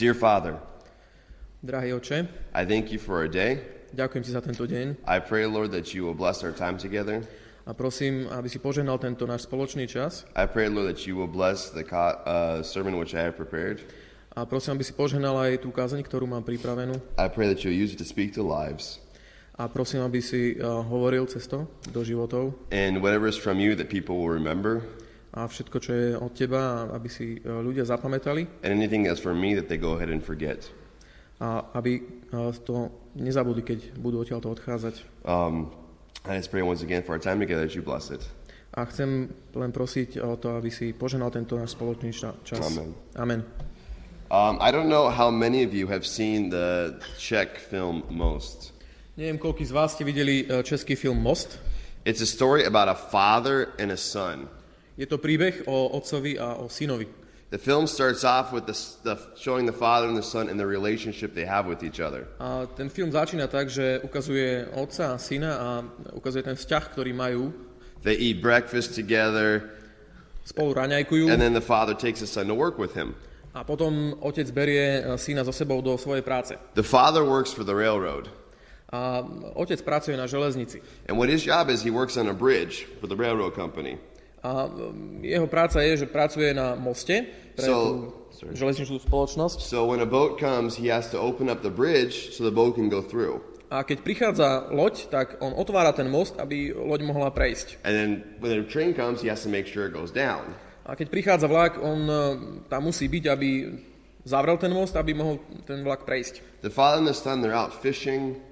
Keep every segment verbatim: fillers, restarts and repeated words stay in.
Dear Father, Drahý Oče, I thank you for a day. ďakujem ti za tento deň I pray, Lord, that you will bless our time together. a prosím, aby si požehnal tento náš spoločný čas I pray, Lord, that you will bless the co- uh, sermon which I have prepared. a prosím, aby si požehnal aj tú kázeň, ktorú mám pripravenú I pray that you'll use it to speak to lives. a prosím, aby si uh, hovoril cez to do životov And whatever is from you that people will remember. a všetko, čo je od teba, aby si uh, ľudia zapamätali And anything that's from me that they go ahead and forget. a aby uh, to nezabudli, keď budú odtiaľto odchádzať. Um, I just pray once again for our time together that you bless it. A chcem len prosiť o to, aby si požehnal tento náš spoločný ča- čas. Amen. Amen. Um, I don't know how many of you have seen the Czech film Most. Neviem, koľký z vás ste videli uh, český film Most. It's a story about a father and a son. Je to príbeh o otcovi a o synovi. The film starts off with the, the showing the father and the son and the relationship they have with each other. A ten film začína tak, že ukazuje otca a syna a ukazuje ten vzťah, ktorý majú. They eat breakfast together, Spolu raňajkujú and then the father takes his son to work with him. a potom otec berie syna so sebou do svojej práce. The father works for the railroad. A otec pracuje na železnici. And what his job is, he works on a bridge for the railroad company. A jeho práca je, že pracuje na moste pre So, tú sorry. železničnú spoločnosť. So when a boat comes, he has to open up the bridge so the boat can go through. A keď prichádza loď, tak on otvára ten most, aby loď mohla prejsť. And then when the train comes, he has to make sure it goes down. A keď prichádza vlak, on uh, tam musí byť, aby zavrel ten most, aby mohol ten vlak prejsť. The father and the son, they're out fishing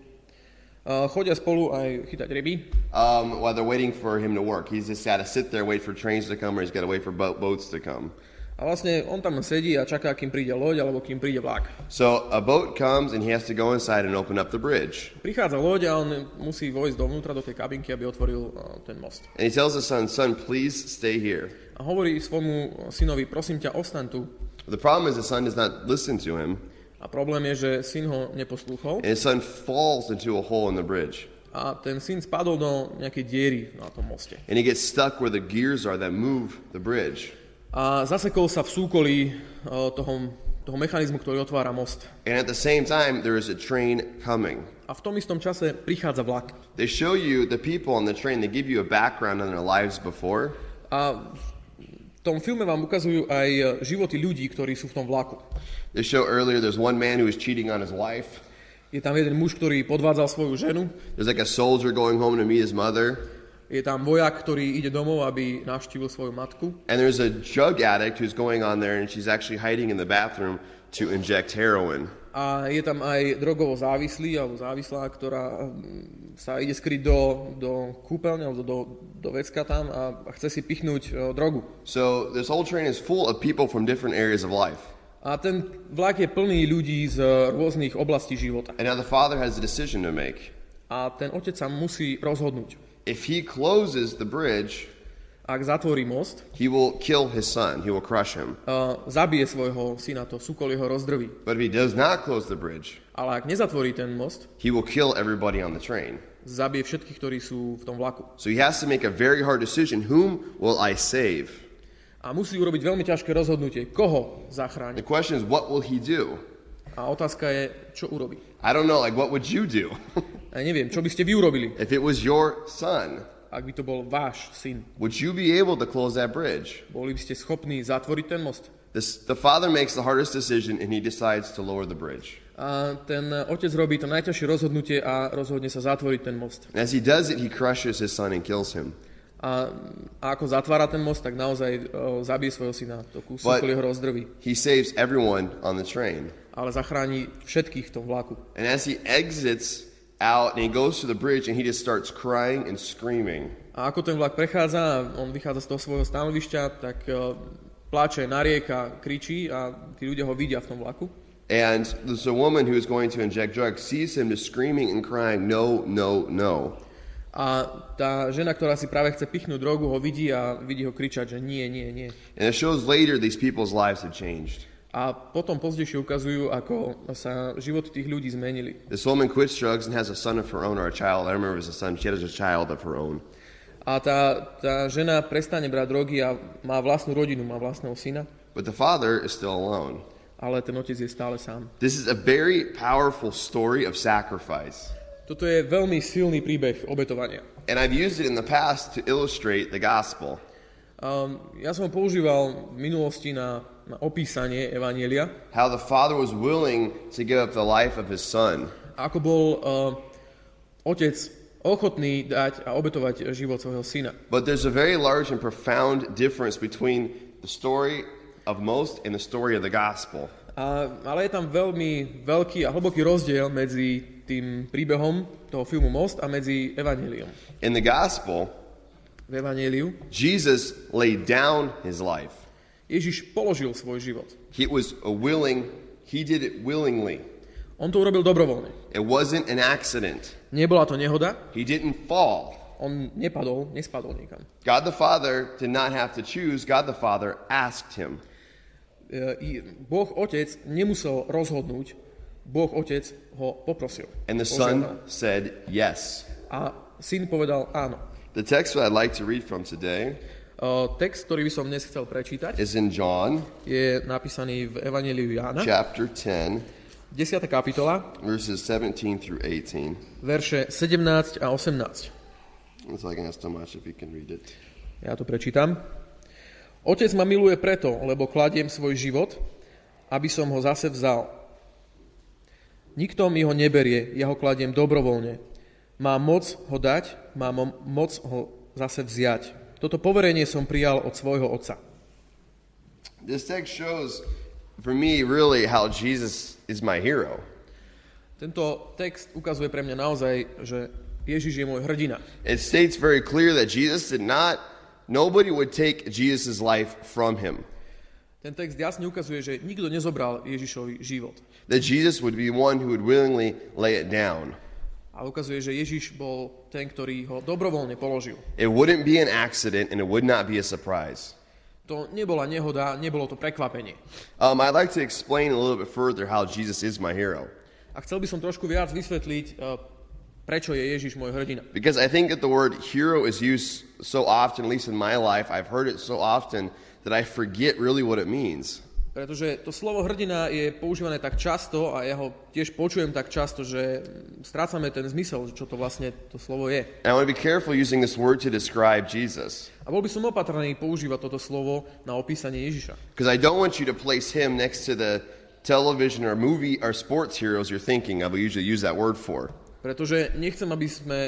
Uh, chodia spolu aj chytať ryby. um, while they're waiting for him to work. He's just got to sit there, wait for trains to come, or he's got to wait for boat, boats to come. A vlastne on tam sedí a čaká, kým príde loď, alebo kým príde vlak. So a boat comes, and he has to go inside and open up the bridge. Prichádza loď a on musí vojsť dovnútra do tej kabinky, aby otvoril uh, ten most. And he tells his son, son, please stay here. A hovorí svojmu synovi, prosím ťa, ostaň tu. The problem is the son does not listen to him, A problém je, že syn ho neposlúchol and his son falls into a hole in the bridge. a ten syn spadol do nejakej diery na tom moste. And he gets stuck where the gears are that move the bridge. A zasekol sa v súkolí uh, toho, toho mechanizmu, ktorý otvára most. And at the same time, there is a train coming. A v tom istom čase prichádza vlak. They show you the people on the train. They give you a background on their lives before. A v tom filme vám ukazujú aj životy ľudí, ktorí sú v tom vlaku. They show earlier there's one man who is cheating on his wife. Je tam jeden muž, ktorý podvádzal svoju ženu. There's like a soldier going home to meet his mother. Je tam vojak, ktorý ide domov, aby navštívil svoju matku. And there's a drug addict who's going on there, and she's actually hiding in the bathroom to inject heroin. A je tam aj drogovo závislý, alebo závislá, ktorá sa ide skryť do, do kúpeľne, alebo do, do vecka tam a chce si pichnúť uh, drogu. So this whole train is full of people from different areas of life. A ten vlak je plný ľudí z rôznych oblastí života. And now the father has a decision to make. A ten otec sa musí rozhodnúť. If he closes the bridge, Ak zatvorí most, he will kill his son. He will crush him. uh, zabije svojho syna, to súkolie ho rozdrví. But if he does not close the bridge, Ale ak nezatvorí ten most, he will kill everybody on the train. zabije všetkých, ktorí sú v tom vlaku. So he has to make a very hard decision. Whom will I save? A musí urobiť veľmi ťažké rozhodnutie, koho The zachráni. question is, what will he do? A otázka je, čo urobí. I don't know, like, what would you do? Ja neviem, čo by ste vy urobili, If it was your son, ak by to bol váš syn. would you be able to close that bridge? Boli by ste schopní zatvoriť ten most? This, the father makes the hardest decision, and he decides to lower the bridge. A ten otec robí to najťažšie rozhodnutie a rozhodne sa zatvoriť ten most. And as he does it, he crushes his son and kills him. A, a ako zatvára ten most, tak naozaj o, zabije svojho syna. To kúsok But- jeho rozdrví. He saves everyone on the train. Ale zachráni všetkých v tom vlaku. And as he exits out and he goes to the bridge and he just starts crying and screaming. A ako ten vlak prechádza, on vychádza z toho svojho stanovišťa, tak o, pláče, narieka, kričí a tí ľudia ho vidia v tom vlaku. And there's a woman who is going to inject drugs, sees him just screaming and crying, no, no, no. A tá žena, ktorá si práve chce pichnúť drogu, ho vidí a vidí ho kričať, že nie, nie, nie. And it shows later these people's lives have changed. A potom pozdejšie ukazujú, ako sa životy tých ľudí zmenili. This woman quits drugs and has a son of her own, or a child. I remember it was a son. She has a child of her own. A tá, tá žena prestane brať drogy a má vlastnú rodinu, má vlastného syna. But the father is still alone. ale ten otec je stále sám. This is a very powerful story of sacrifice. Toto je veľmi silný príbeh obetovania. And I've used it in the past to illustrate the gospel. Um, ja som ho používal v minulosti na, na opísanie evanjelia. How the father was willing to give up the life of his son. Ako bol uh, otec ochotný dať a obetovať život svojho syna. But there's a very large and profound difference between the story of Most and the story of the gospel. A, ale je tam veľmi veľký a hlboký rozdiel medzi tým príbehom toho filmu Most a medzi evanjeliom. In the gospel, v evanjeliu Jesus laid down his life. Ježiš položil svoj život. He was a willing, he did it willingly. On to urobil dobrovoľne. It wasn't an accident. Nebola to nehoda. He didn't fall. On nepadol, nespadol niekam. God the Father did not have to choose. God the Father asked him. Boh Otec nemusel rozhodnúť. Boh Otec ho poprosil. And the Son said yes. A syn povedal áno. The text that I'd like to read from today uh, text, ktorý by som dnes chcel prečítať, is in John, je napísaný v Evanjeliu Jána, chapter ten, desiata kapitola, verses seventeen through eighteen. Verše sedemnásť a osemnásť. So I can ask Tomáš if he can read it. Ja to prečítam. Otec ma miluje preto, lebo kladiem svoj život, aby som ho zase vzal. Nikto mi ho neberie, ja ho kladiem dobrovoľne. Mám moc ho dať, mám moc ho zase vziať. Toto poverenie som prijal od svojho otca. This text shows for me really how Jesus is my hero. Tento text ukazuje pre mňa naozaj, že Ježiš je môj hrdina. It states very clear that Jesus did not, nobody would take Jesus' life from him. Ten text jasne ukazuje, že nikto nezobral Ježišovi život. That Jesus would be one who would willingly lay it down. A ukazuje, že Ježiš bol ten, ktorý ho dobrovoľne položil. It wouldn't be an accident and it would not be a surprise. To nebola nehoda, nebolo to prekvapenie. Um, I'd like to explain a little bit further how Jesus is my hero. A chcel by som trošku viac vysvetliť, uh, prečo je Ježiš môj hrdina. Because I think that the word hero is used so often, at least in my life, I've heard it so often that I forget really what it means. Pretože to slovo hrdina je používané tak často a ja ho tiež počujem tak často, že strácame ten zmysel, čo to vlastne to slovo je. And I want to be careful using this word to describe Jesus. A bol by som opatrný používať toto slovo na opísanie Ježiša. Because I don't want you to place him next to the television or movie or sports heroes you're thinking of. We usually use that word for. Pretože nechcem, aby sme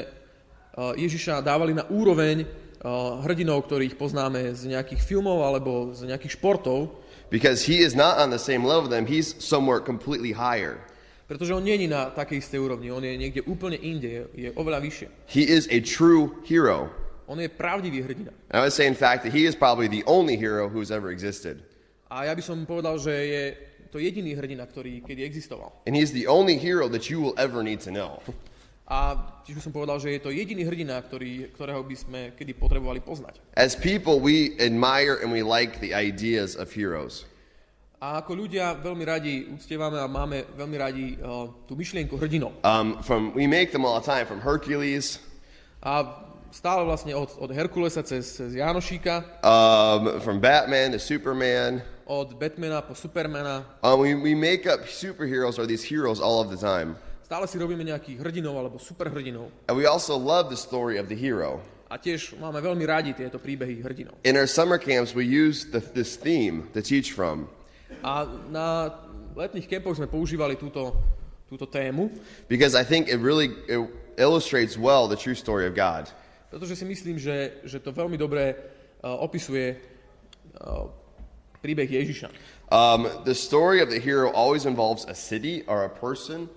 Ježiša dávali na úroveň hrdinov, ktorých poznáme z nejakých filmov alebo z nejakých športov. Because he is not on the same level with them, he's somewhere completely higher. Pretože on nie je na takej istej úrovni, on je niekde úplne inde, je, je oveľa vyššie. He is a true hero. On je pravdivý hrdina. I would say in fact that he is probably the only hero who's ever existed. A ja by som povedal, že je to jediný hrdina, ktorý kedy existoval. And he's the only hero that you will ever need to know. A tiež by som povedal, že je to jediný hrdina, ktorý, ktorého by sme kedy potrebovali poznať. As people, we admire and we like the ideas of heroes. A ako ľudia veľmi radi uctievame a máme veľmi radi uh, tú myšlienku hrdinov. Um, from we make them all the time, from Hercules. A stále vlastne od, od Herkulesa cez, cez Jánošíka. Um, from Batman to Superman. Od Batmana po Supermana. Um, we, we make up superheroes or these heroes all of the time. Stále si robíme nejakých hrdinov alebo superhrdinov. And we also love the story of the hero. A tiež máme veľmi radi tieto príbehy hrdinov. In our summer camps, we use the, this theme to teach from. A na letných kempoch sme používali túto, túto tému. Because I think it really it illustrates well the true story of God. Pretože si myslím, že, že to veľmi dobre uh, opisuje uh, príbeh Ježiša. Um, the story of the hero always involves a city or a person.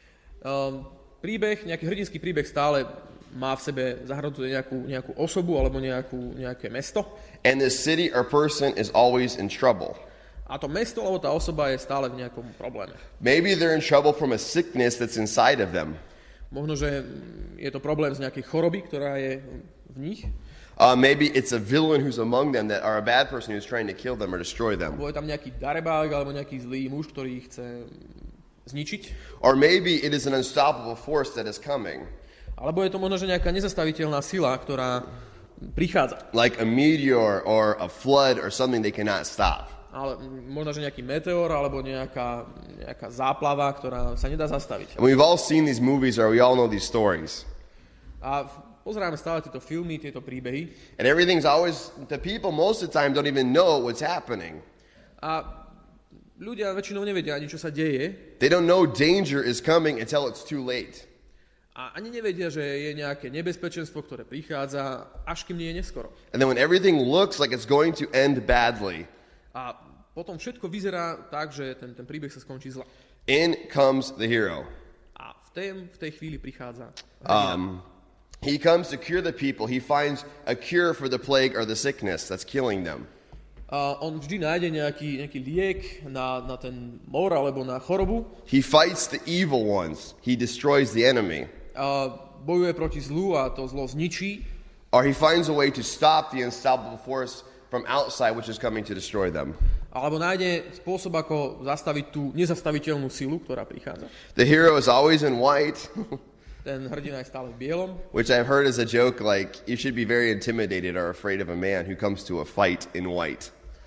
Um, príbeh, nejaký hrdinský príbeh stále má v sebe zahrnutú nejakú, nejakú osobu alebo nejakú, nejaké mesto. And this city or person is always in trouble. A to mesto alebo tá osoba je stále v nejakom probléme. Maybe they're in trouble from a sickness that's inside of them. Možno, že je to problém z nejakej choroby, ktorá je v nich. Uh, maybe it's a villain who's among them that are a bad person who's trying to kill them or destroy them. Alebo je tam nejaký darebák alebo nejaký zlý muž, ktorý ich chce zničiť. Or maybe it is an unstoppable force that is coming. Alebo je to možno, že nejaká nezastaviteľná sila, ktorá prichádza. Like a meteor or a flood or something they cannot stop. ale možno, že nejaký meteor alebo nejaká, nejaká záplava, ktorá sa nedá zastaviť. And we've all seen these movies, or we all know these stories. A pozeráme stále tieto filmy, tieto príbehy. And everything's always, the people most of the time don't even know what's happening. A ľudia väčšinou nevedia ani, čo sa deje. They don't know danger is coming until it's too late. A ani nevedia, že je nejaké nebezpečenstvo, ktoré prichádza, až kým nie je neskoro. And then when everything looks like it's going to end badly, A potom všetko vyzerá tak, že ten, ten príbeh sa skončí zle. in comes the hero. A v tej, v tej chvíli prichádza hrdina. Um, he comes to cure the people. He finds a cure for the plague or the sickness that's killing them. A on vždy nájde nejaký, nejaký liek na, na ten mor alebo na chorobu. He fights the evil ones. He destroys the enemy. A bojuje proti zlu a to zlo zničí. Or he finds a way to stop the unstoppable force from outside, which is coming to destroy them. Alebo nájde spôsob, ako zastaviť tú nezastaviteľnú silu, ktorá prichádza. The hero is always in white, Ten hrdina je stále v bielom. which I've heard as a joke, like you should be very intimidated or afraid of a man who comes to a fight in white.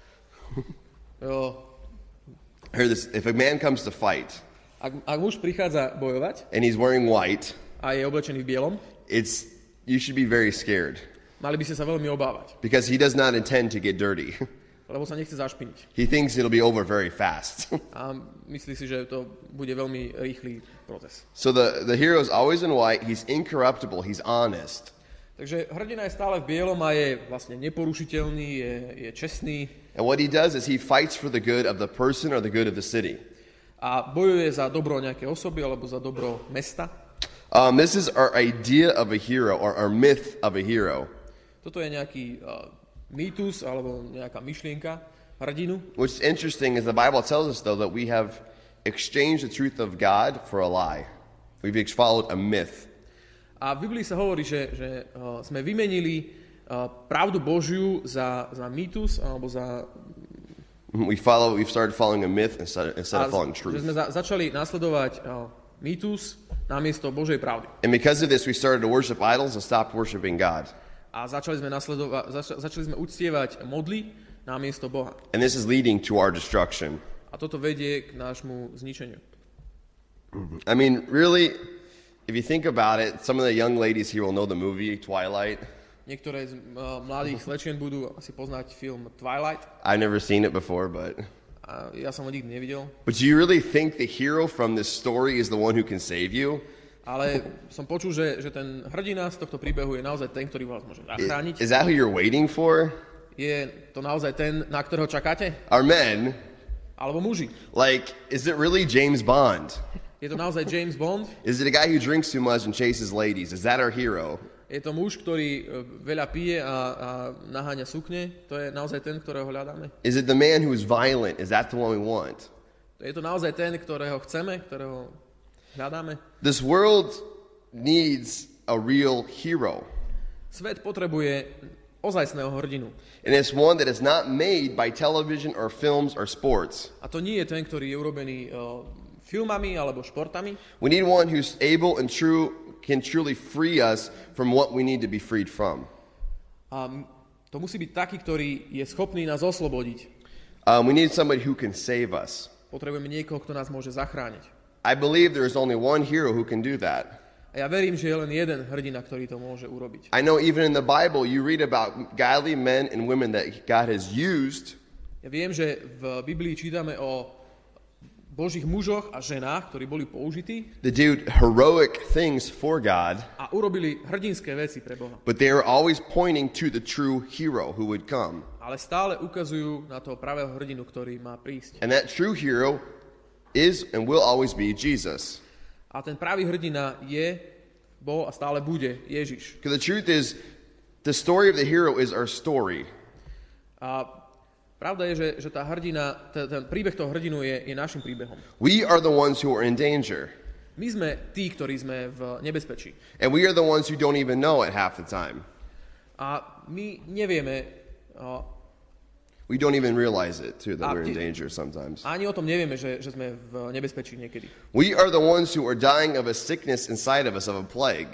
Jo, I heard this, if a man comes to fight ak, ak muž prichádza bojovať and he's wearing white, a je oblečený v bielom, it's you should be very scared mali by ste sa veľmi obávať, because he does not intend to get dirty. lebo sa nechce zašpiniť. He thinks it'll be over very fast. A myslí si, že to bude veľmi rýchly proces. So the, the hero is always in white, he's incorruptible, he's honest. Takže hrdina je stále v bielom a je vlastne neporušiteľný, je, je čestný And what he does is he fights for the good of the person or the good of the city. a bojuje za dobro nejaké osoby alebo za dobro mesta. Um, this is our idea of a hero, or our myth of a hero. Toto je nejaký uh, mýtus alebo nejaká myšlienka hrdinu. What's interesting is the Bible tells us, though, that we have exchanged the truth of God for a lie. We've ex- followed a myth. A v Biblii sa hovorí, že, že uh, sme vymenili uh, pravdu Božiu za, za mýtus alebo za... We follow. We've started following a myth instead, instead of following že truth. sme za, začali nasledovať uh, mýtus namiesto Božej pravdy. And because of this, we started to worship idols and stopped worshiping God. A začali sme, nasledova- zač- začali sme uctievať modly namiesto Boha. And this is leading to our destruction. A toto vedie k nášmu zničeniu. I mean, really, if you think about it, some of the young ladies here will know the movie Twilight. Niektoré z uh, mladých slečien budú asi poznať film Twilight. I've never seen it before, but... A ja som ho nikdy nevidel. But do you really think the hero from this story is the one who can save you? Ale som počul, že, že ten hrdina z tohto príbehu je naozaj ten, ktorý vás môže I- zachrániť. Is that who you're waiting for? Je to naozaj ten, na ktorého čakáte? Are men? Alebo muži? Like, is it really James Bond? Je to naozaj James Bond? Is it a guy who drinks too much and chases ladies? Is that our hero? Je to muž, ktorý e, veľa pije a, a naháňa sukne? To je naozaj ten, ktorého hľadáme? Is it the man who is violent? Is that the one we want? Je to naozaj ten, ktorého chceme, ktorého hľadáme? This world needs a real hero. Svet potrebuje ozajstného hrdinu. And it's one that is not made by television or films or sports. A to nie je ten, ktorý je urobený uh, filmami alebo športami. We need one who's able and true can truly free us from what we need to be freed from. A to musí byť taký, ktorý je schopný nás oslobodiť. Um, we need somebody who can save us. Potrebujeme niekoho, kto nás môže zachrániť. I believe there is only one hero who can do that. A ja verím, že je len jeden hrdina, ktorý to môže urobiť. I know even in the Bible you read about godly men and women that God has used. Ja viem, že v Biblii čítame o Božích mužoch a ženách, ktorí boli použití They do heroic things for God, a urobili hrdinské veci pre Boha. but they are always pointing to the true hero who would come. Ale stále ukazujú na toho pravého hrdinu, ktorý má prísť. And that true hero is and will always be Jesus. A ten pravý hrdina je, bol a stále bude Ježiš. Because the truth is, the story of the hero is our story. A pravda je, že, že tá hrdina, ten, ten príbeh toho hrdinu je, je našim príbehom. We are the ones who are in danger. My sme tí, ktorí sme v nebezpečí. And we are the ones who don't even know it half the time. A my nevieme, a, We don't even realize it, too, that A we're in ty- danger sometimes. ani o tom nevieme, že, že sme v nebezpečí niekedy. We are the ones who are dying of a sickness inside of us, of a plague.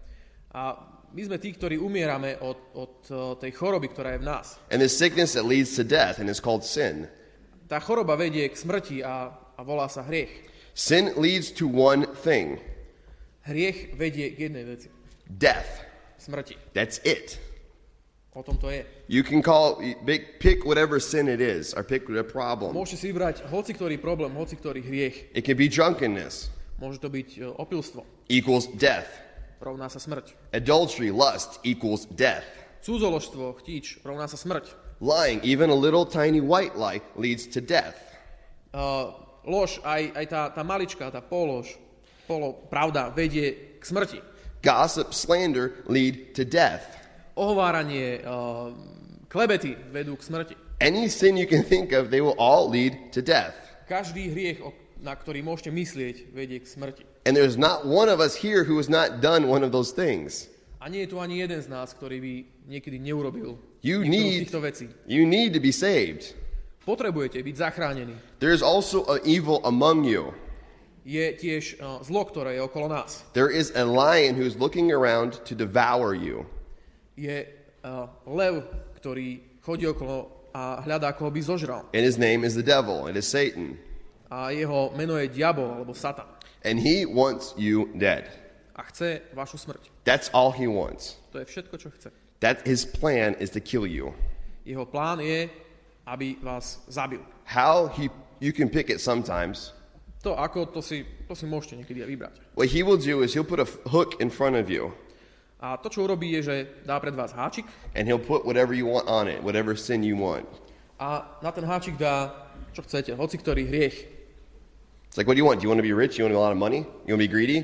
A my sme tí, ktorí umierame od, od o, tej choroby, ktorá je v nás. And this sickness that leads to death, and it's called sin. tá choroba vedie k smrti a, a volá sa hriech. Sin leads to one thing. Hriech vedie k jednej veci. Death. Smrti. That's it. O tom to je. You can call, pick whatever sin it is, or pick a problem. Môžete si vybrať hoci ktorý problém, hoci ktorý hriech. It can be drunkenness. Môže to byť uh, opilstvo. Equals death. Rovná sa smrť. Adultery, lust, equals death. Cudzoložstvo, chtíč, rovná sa smrť. Lying, even a little tiny white lie, leads to death. Uh, lož, aj, aj tá, tá maličká, tá polož, polo, pravda, vedie k smrti. Gossip, slander lead to death. Ohováranie, uh, klebety vedú k smrti. Any sin you can think of, they will all lead to death. Každý hriech, na ktorý môžete myslieť, vedie k smrti. And there's not one of us here who has not done one of those things. A nie je tu ani jeden z nás, ktorý by niekedy neurobil You niektorú z need, týchto vecí. you need to be saved. Potrebujete byť zachránení. There is also an evil among you. Je tiež uh, zlo, ktoré je okolo nás. There is a lion who's looking around to devour you. Je uh, lev, ktorý chodí okolo a hľadá, koho by zožral. And his name is the devil. It is Satan. A jeho meno je diabol, alebo Satan. And he wants you dead. A chce vašu smrť. That's all he wants. To je všetko, čo chce. That his plan is to kill you. Jeho plán je, aby vás zabil. How he you can pick it sometimes. To ako, to si, to si môžete niekedy aj vybrať. What he will do is he'll put a hook in front of you. A to, čo urobí, je, že dá pred vás háčik. And he'll put whatever you want on it, whatever sin you want. A na ten háčik dá, čo chcete, hoci ktorý hriech. It's like, what do you want? Do you want to be rich? You want a lot of money? You want to be greedy?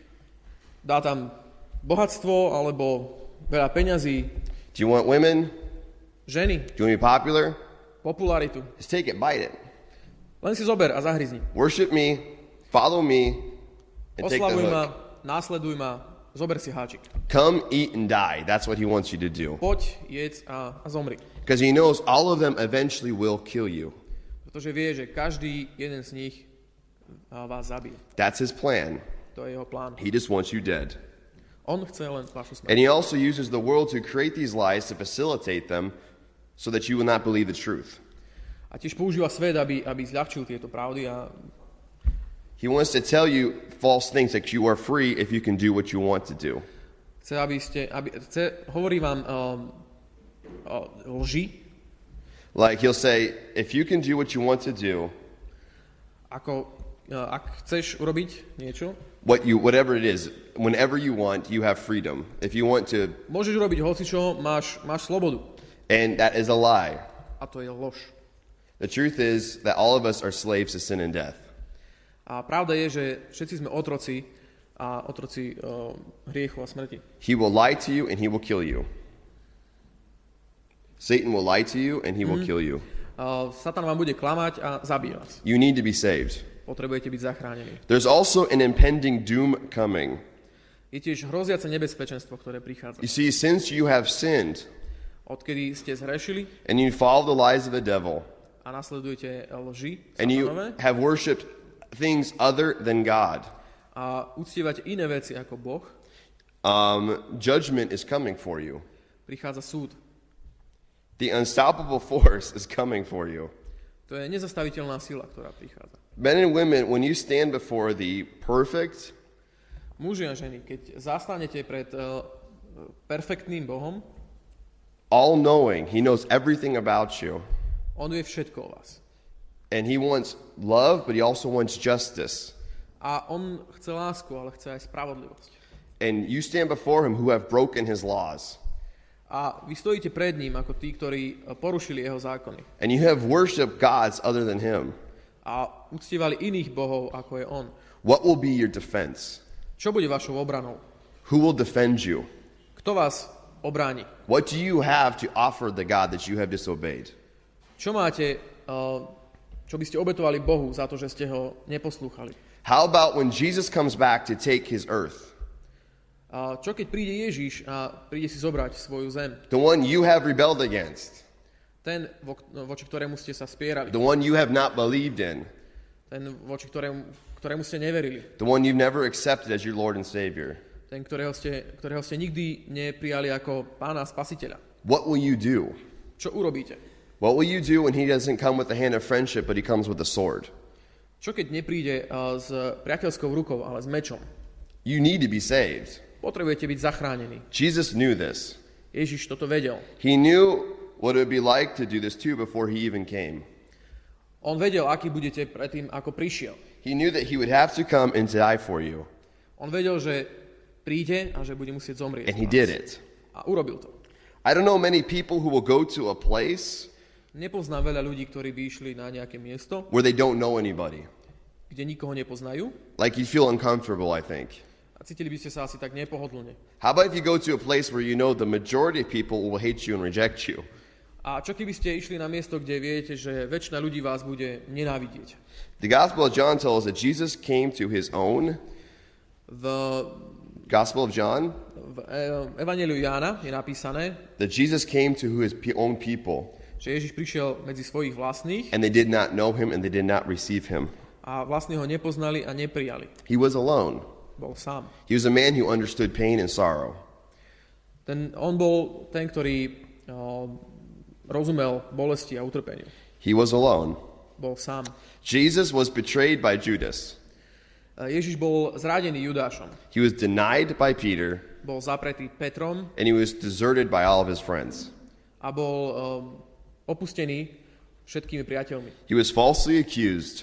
Dá tam bohatstvo, alebo veľa peňazí, Do you want women? ženy, Do you want to be popular? popularitu. Just take it, bite it. Len si zober a zahryzni. Worship me, follow me, and take the Oslavuj ma, hook. následuj ma, zober si háčik. Come, eat, and die. That's what he wants you to do. Poď, jedz a, a zomri. Because he knows all of them eventually will kill you. Pretože vie, že každý jeden z nich a, vás zabije. That's his plan. To je jeho plán. He just wants you dead. On chce len vašu smrť. And he also uses the world to create these lies to facilitate them so that you will not believe the truth. A tiež používa svet, aby, aby zľahčil tieto pravdy a He wants to tell you false things that you are free if you can do what you want to do. chce, aby ste, aby, chce, hovorí vám um, uh, lži, Like he'll say, if you can do what you want to do, ako uh, ak chceš urobiť niečo, what you whatever it is, whenever you want, you have freedom. If you want to, môžeš urobiť hocičo, máš, máš slobodu. and that is a lie. A to je lož. The truth is that all of us are slaves to sin and death. A pravda je, že všetci sme otroci a otroci uh, hriechu a smrti. He will lie to you and he will kill you. Satan will lie to you and he will kill you. Uh, Satan vám bude klamať a zabije vás. You need to be saved. Potrebujete byť zachránení. There's also an impending doom coming. Je tiež hroziace nebezpečenstvo, ktoré prichádza. You see, since you have sinned Odkedy ste zhrešili and you follow the lies of the devil a nasledujete lži and you satanové have worshipped things other than God, a uctievate iné veci ako Boh, um, judgment is coming for you. prichádza súd. The unstoppable force is coming for you. To je nezastaviteľná sila, ktorá prichádza. Men and women, when you stand before the perfect, Muži a ženy, keď zastanete pred uh, perfektným Bohom, all-knowing, he knows everything about you. on vie všetko o vás. And he wants love, but he also wants justice. A on chce lásku, ale chce aj spravodlivosť. And you stand before him who have broken his laws. A vy stojíte pred ním ako tí, ktorí porušili jeho zákony. And you have worshipped gods other than him. A uctievali iných bohov, ako je on. What will be your defense? Čo bude vašou obranou? Who will defend you? Kto vás obráni? What do you have to offer the God that you have disobeyed? Čo máte, uh, čo by ste obetovali Bohu za to, že ste ho neposlúchali? How about when Jesus comes back to take his earth? A čo keď príde Ježiš a príde si zobrať svoju zem? The one you have rebelled against. Ten, vo, voči ktorému ste sa spierali. The one you have not believed in. Ten, voči ktorému, ktorému ste neverili. The one you've never accepted as your Lord and Savior. Ten, ktorého ste, ktorého ste nikdy neprijali ako pána a spasiteľa. What will you do? Čo urobíte? What will you do when he doesn't come with the hand of friendship, but he comes with the sword? Čo keď nepríde uh, s priateľskou rukou, ale s mečom? You need to be saved. Potrebujete byť zachránení. Jesus knew this. Ježiš toto vedel. He knew what it would be like to do this too before he even came. On vedel, aký budete predtým, ako prišiel. He knew that he would have to come and die for you. On vedel, že príde a že bude musieť zomrieť. And he did it. A urobil to. I don't know many people who will go to a place Nepoznám veľa ľudí, ktorí by išli na nejaké miesto, where they don't know anybody. kde nikoho nepoznajú. Like you feel uncomfortable, I think. A cítili by ste sa asi tak nepohodlne. How about if you go to a place where you know the majority of people will hate you and reject you? A čo keby ste išli na miesto, kde viete, že väčšina ľudí vás bude nenávidieť? The Gospel of John tells us that Jesus came to his own. V, Gospel of John? v Evangeliu Jána je napísané, That Jesus came to his pe- own people. že Ježiš prišiel medzi svojich vlastných And they did not know him and they did not receive him. a vlastní ho nepoznali a neprijali. He was alone. Bol sám. He was a man who understood pain and sorrow. Ten, on bol ten, ktorý o, rozumel bolesti a utrpeniu. He was alone. Bol sám. Jesus was betrayed by Judas. Ježiš bol zradený Judášom. He was denied by Peter. Bol zapretý Petrom And he was deserted by all of his friends. a bol um, opustený všetkými priateľmi. He was falsely accused.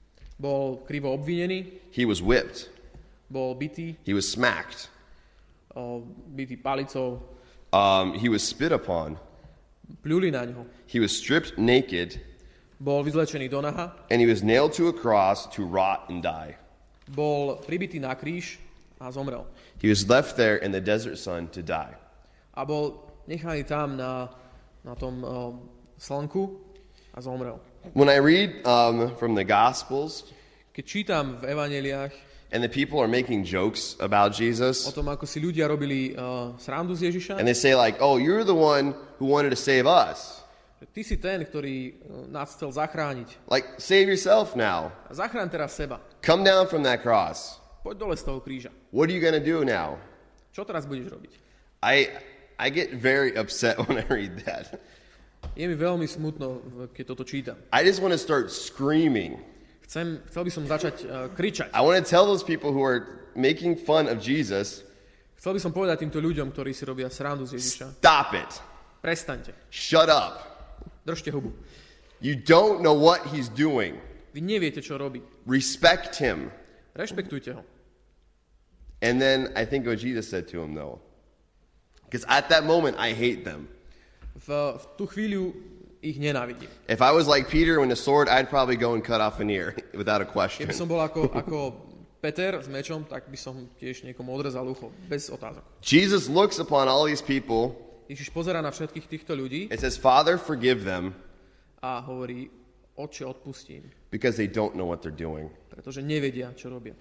Bol krivo obvinený, He was whipped. bol bitý, He was smacked. o, bitý palicou, Um, he was spit upon. pľuli na ňo. He was stripped naked. Bol vyzlečený do naha, And he was nailed to a cross to rot and die. bol pribitý na kríž a zomrel. He was left there in the desert sun to die. A bol nechaný tam na, na tom o, slnku a zomrel. When I read um, from the Gospels, Keď čítam v evanjeliách and the people are making jokes about o Jesus, tom, ako si ľudia robili uh, srandu z Ježiša, and they say like, oh, you're the one who wanted to save us. ty si ten, ktorý uh, nás chcel zachrániť. Like, save yourself now. A zachráň teraz seba. Come down from that cross. Poď dole z toho kríža. What are you going to do now? Čo teraz budeš robiť? I I get very upset when I read that. Je mi veľmi smutno, keď toto čítam. I just want to start screaming. Chcem, chcel by som začať uh, kričať. I want to tell those people who are making fun of Jesus, Chcel by som povedať týmto ľuďom, ktorí si robia srandu z Ježiša. stop it. Prestaňte. Shut up. Držte hubu. You don't know what he's doing. Vy neviete, čo robí. Respect him. Rešpektujte ho. And then I think what Jesus said to him, though. Because at that moment, I hate them. V, v tú chvíľu ich nenávidím. If I was like Peter with a sword, I'd probably go and cut off an ear without a question. Keby som bol ako, ako Peter s mečom, tak by som tiež niekomu odrezal ucho. Bez otázok. Jesus looks upon all these people Ježiš pozerá na všetkých týchto ľudí and says, Father, forgive them a hovorí, Otče, odpustím, because they don't know what they're doing. pretože nevedia, čo robia.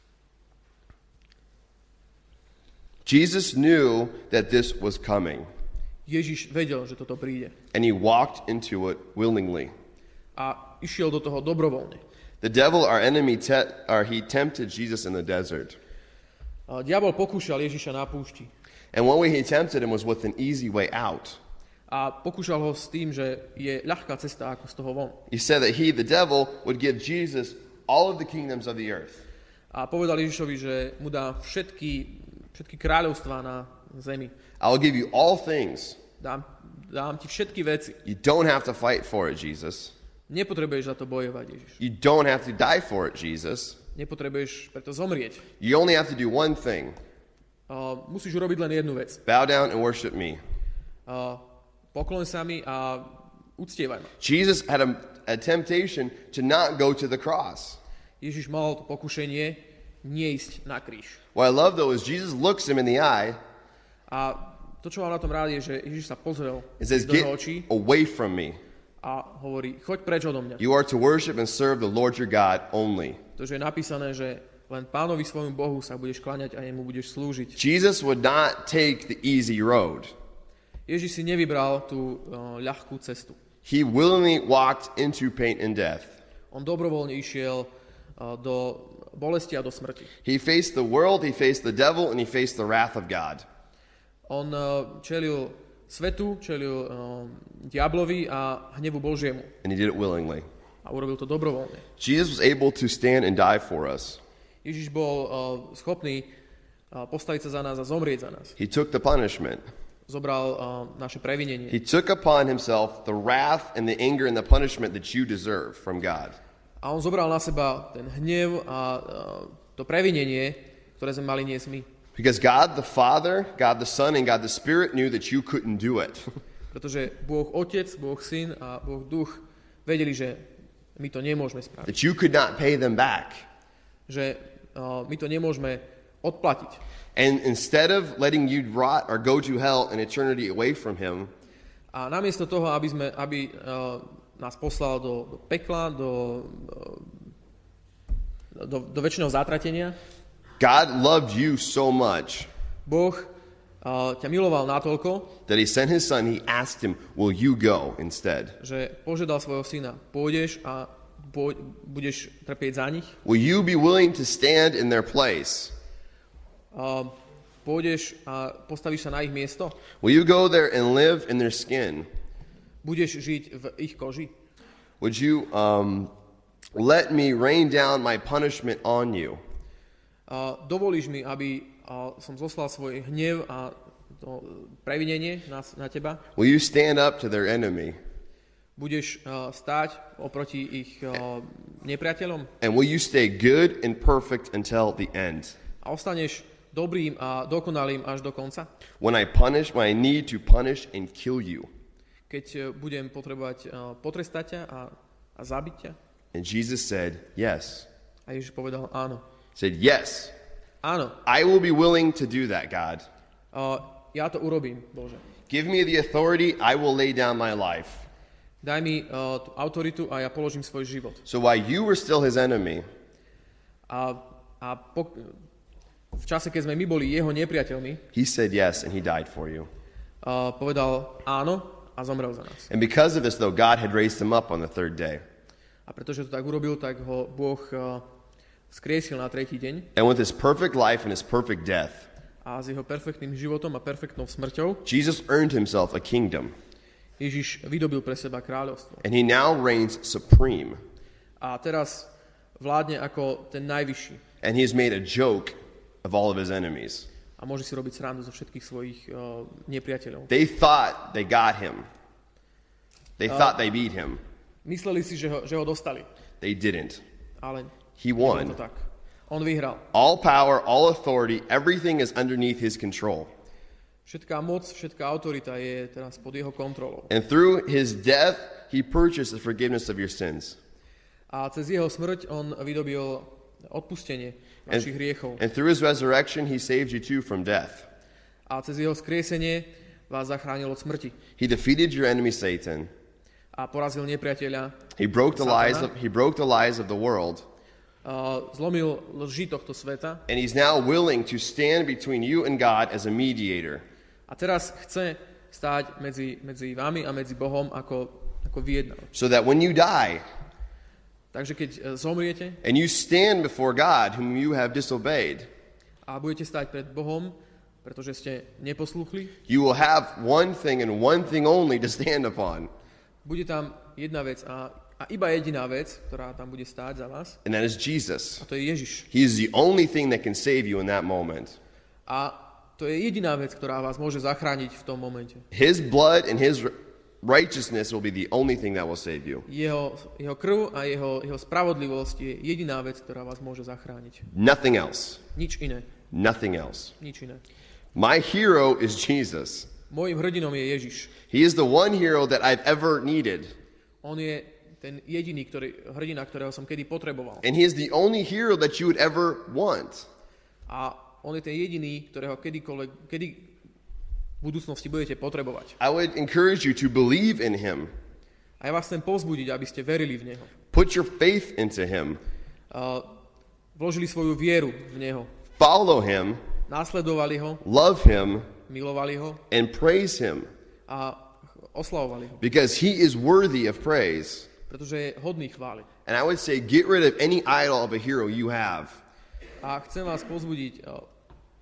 Jesus knew that this was coming, Ježiš vedel, že toto príde. and he walked into it willingly. A išiel do toho dobrovoľne. The devil, our enemy, te- or he tempted Jesus in the desert. A diabol pokúšal Ježiša na púšti. And one way he tempted him was with an easy way out. A pokúšal ho s tým, že je ľahká cesta ako z toho von. He said that he, the devil, would give Jesus all of the kingdoms of the earth. A povedal Ježišovi, že mu dá všetky, všetky kráľovstvá na zemi. I will give you all things. Dám, dám ti všetky veci. You don't have to fight for it, Jesus. Nepotrebuješ za to bojovať, Ježiš. You don't have to die for it, Jesus. Nepotrebuješ preto zomrieť. You only have to do one thing. Uh, musíš urobiť len jednu vec. Bow down and worship me. Uh, pokloň sa mi a uctievaj ma. Jesus had a, a temptation to not go to the cross. Ježiš mal to pokušenie neísť na kríž. What I love, though, is Jesus looks him in the eye A to, čo mám na tom rád, je, že Ježiš sa pozrel and says, do get jeho očí away from me. a hovorí, choď preč odo mňa. You are to worship and serve the Lord your God only. To, že je napísané, že len Pánovi svojmu Bohu sa budeš kláňať a jemu budeš slúžiť. Jesus would not take the easy road. Ježiš si nevybral tú uh, ľahkú cestu. He willingly walked into pain and death. On dobrovoľne išiel uh, do bolesti a do smrti. He faced the world, he faced the devil, and he faced the wrath of God. On uh, čelil svetu, čelil uh, diablovi a hnevu Božiemu. And he did it willingly. A urobil to dobrovoľne. Jesus was able to stand and die for us. Ježiš bol uh, schopný uh, postaviť sa za nás a zomrieť za nás. He took the punishment. Zobral uh, naše previnenie. He took upon himself the wrath and the anger and the punishment that you deserve from God. A on zobral na seba ten hnev a uh, to previnenie, ktoré sme mali niesť my. Because God the Father, God the Son, and God the Spirit knew that you couldn't do it. Pretože Boh Otec, Boh Syn a Boh Duch vedeli, že my to nemôžeme spraviť. That you could not pay them back. Že uh, my to nemôžeme odplatiť. And instead of letting you rot or go to hell in eternity away from him, a namiesto toho, aby, sme, aby uh, nás poslal do, do pekla, do, do, do väčšiného zatratenia, God loved you so much Boh uh, ťa miloval natoľko, that he sent his son. He asked him, will you go instead? že požiadal svojho syna, pôjdeš a pôj, budeš trpieť za nich? Will you be willing to stand in their place? Uh, pôjdeš a postavíš sa na ich miesto? Will you go there and live in their skin? Budeš žiť v ich koži? Would you um, let me rain down my punishment on you? Uh, dovolíš mi, aby uh, som zoslal svoj hnev a to previnenie na, na teba? Will you stand up to their enemy? Budeš uh, stáť oproti ich uh, nepriateľom? And will you stay good and perfect until the end? A ostaneš dobrým a dokonalým až do konca? When I punish, when I need to punish and kill you. Keď uh, budem potrebovať uh, potrestať ťa a, a zabiť ťa? And Jesus said, yes. A Ježiš povedal áno. Said, yes. Áno. I will be willing to do that, God. Uh, ja to urobím, Bože. Give me the authority, I will lay down my life. Daj mi uh, tú autoritu a ja položím svoj život. So while you were still his enemy, A, a po, v čase, keď sme my boli jeho nepriateľmi, he said yes and he died for you. uh, povedal áno a zomrel za nás. And because of this, though, God had raised him up on the third day. A pretože to tak urobil, tak ho Boh uh, skriesil na tretí deň. And with his perfect life and his perfect death, A s jeho perfektným životom a perfektnou smrťou Jesus earned himself a kingdom. Ježiš vydobil pre seba kráľovstvo. And he now reigns supreme. A teraz vládne ako ten najvyšší. And he has made a joke of all of his enemies. A môže si robiť srandu zo všetkých svojich uh, nepriateľov. They thought they got him. They uh, thought they beat him. Mysleli si, že ho, že ho dostali. They didn't. Ale He nebolo won. to tak. On vyhral. All power, all authority, everything is underneath his control. Všetká moc, všetká autorita je teraz pod jeho kontrolou. And through his death, he purchased the forgiveness of your sins. A cez jeho smrť on vydobil odpustenie našich hriechov. And through his resurrection, he saved you too from death. A cez jeho skriesenie vás zachránil od smrti. He defeated your enemy Satan. A porazil nepriateľa. He broke the Satana. lies of he broke the lies of the world. Uh, zlomil lži tohto sveta. And he's now willing to stand between you and God as a mediator. A teraz chce stáť medzi, medzi vami a medzi Bohom ako, ako vyjednávač. So that when you die Takže keď uh, zomriete and you stand before God whom you have disobeyed, a budete stáť pred Bohom, pretože ste neposlúchli, you will have one thing and one thing only to stand upon. bude tam jedna vec a, a iba jediná vec, ktorá tam bude stáť za vás. And that is Jesus. A to je Ježiš. He is the only thing that can save you in that moment. A to je jediná vec, ktorá vás môže zachrániť v tom momente. His blood and his righteousness will be the only thing that will save you. Jeho, jeho krv a jeho, jeho spravodlivosť je jediná vec, ktorá vás môže zachrániť. Nothing else. Nič iné. Nothing else. Nič iné. My hero is Jesus. Mojím hrdinom je Ježiš. He is the one hero that I've ever needed. On je ten jediný ktorý, hrdina, ktorého som kedy potreboval. And he is the only hero that you would ever want. A on je ten jediný, ktorého kedykoľvek, kedy v budúcnosti budete potrebovať. I would encourage you to believe in him. A ja vás chcem povzbudiť, aby ste verili v Neho. Put your faith into him. Uh, vložili svoju vieru v Neho. Follow him. Následovali ho, Love him. milovali ho And praise him. a oslavovali ho. Because he is worthy of praise. Pretože je hodný chvály. And I would say get rid of any idol of a hero you have. A chcem vás povzbudiť, uh,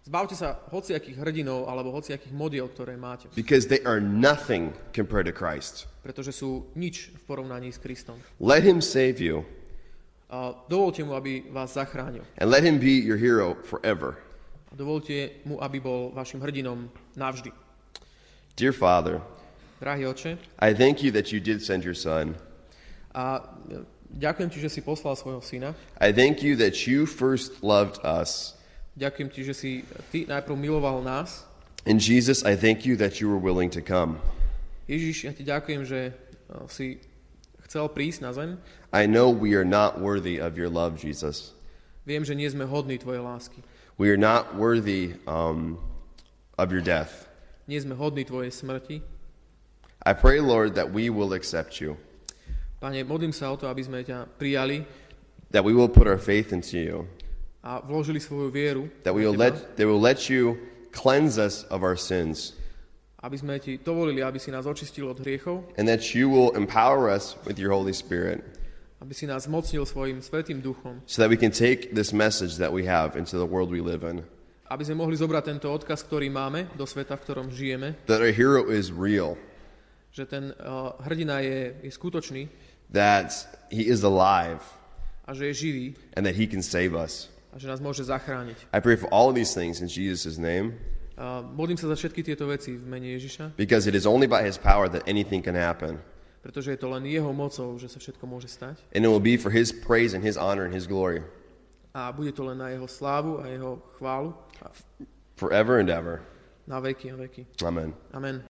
Zbavte sa hociakých hrdinov alebo hociakých modiel, ktoré máte. Because they are nothing compared to Christ. Pretože sú nič v porovnaní s Kristom. Let him save you. A dovolte mu, aby vás zachránil. And let him be your hero forever. A dovolte mu, aby bol vašim hrdinom navždy. Dear Father, Drahý Otče, I thank you that you did send your son. a ďakujem ti, že si poslal svojho syna. I thank you that you first loved us. Ďakujem ti, že si ty najprv miloval nás. And Jesus, I thank you that you were willing to come. Ježiš, ja ti ďakujem, že si chcel prísť na zem. I know we are not worthy of your love, Jesus. Viem, že nie sme hodní tvojej lásky. We are not worthy um, of your death. Nie sme hodní tvojej smrti. I pray, Lord, that we will accept you. Pane, modlím sa o to, aby sme ťa prijali That we will put our faith into you. a vložili svoju vieru That we will do teba, let, that we will let you cleanse us of our sins. aby sme ti dovolili, aby si nás očistil od hriechov, And that you will empower us with your Holy Spirit. aby si nás mocnil svojim svätým duchom, So that we can take this message that we have into the world we live in. aby sme mohli zobrať tento odkaz, ktorý máme do sveta, v ktorom žijeme, That our hero is real. že ten uh, hrdina je, je skutočný That he is alive. a že je živý And that he can save us. a že nás môže zachrániť. I pray for all of these things in Jesus' name. Uh, modlím sa za všetky tieto veci v mene Ježiša, Because it is only by his power that anything can happen. pretože je to len jeho mocou, že sa všetko môže stať. And it will be for his praise and his honor and his glory. A bude to len na jeho slávu a jeho chválu a Forever and ever. na veky a veky. Amen. Amen.